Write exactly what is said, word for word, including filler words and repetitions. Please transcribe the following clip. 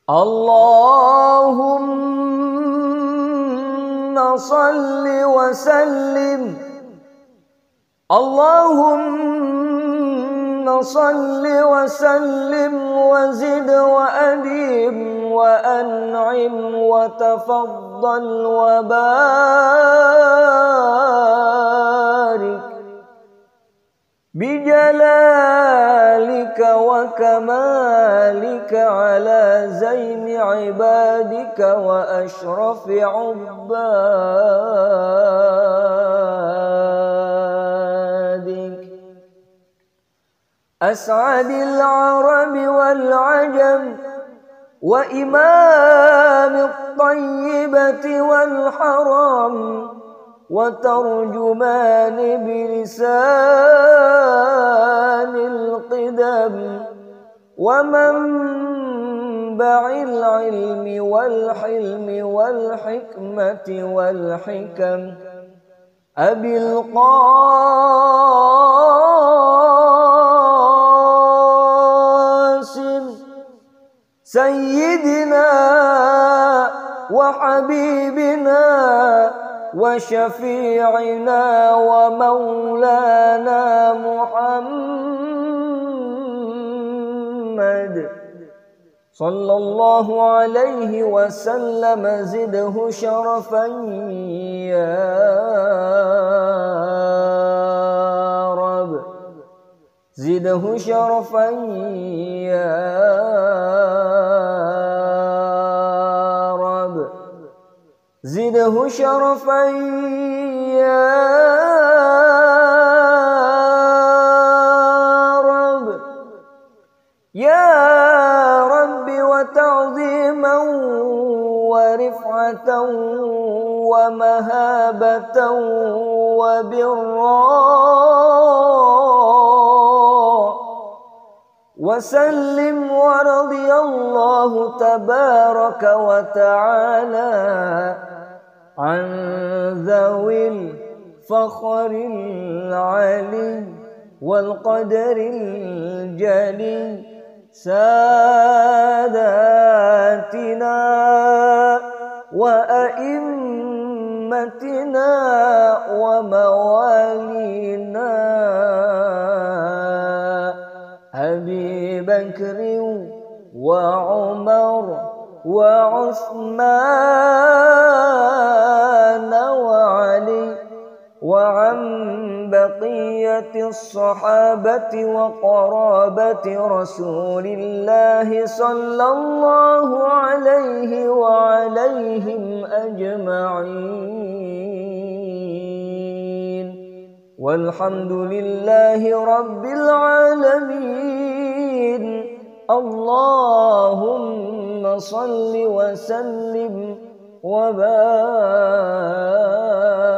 Allahumma salli wa sallim, Allahumma salli wa sallim wa zid wa adim wa an'im wa tafaddal wa barik bijalalika wa kamalika ala zaini ibadika wa ashrafi ubbadik as'adil arabi wal ajam wa imamit tayyibati wal haram wa tarjumani bilisanil qidam wa manba'il ilmi wal hilmi wal hikmati wal hikam abil qasim sayyidina wa habibina wa syafi'ina wa maulana Muhammad sallallahu alaihi wasallam zidhu syarafan ya Rab zidhu syarafan ya zidhu syarafan ya Rabb ya Rabbi wa ta'ziman wa rif'atan wa mahabatan wa birra wa sallim wa radiyallahu tabaraka wa ta'ala عن ذوي الفخر العلي والقدر الجلي ساداتنا وأئمتنا وموالينا أبي بكر وعمر وعثمان وعلي وعن بقية الصحابة وقرابة رسول الله صلى الله عليه وعليهم أجمعين والحمد لله رب العالمين اللهم صل وسلم وبارك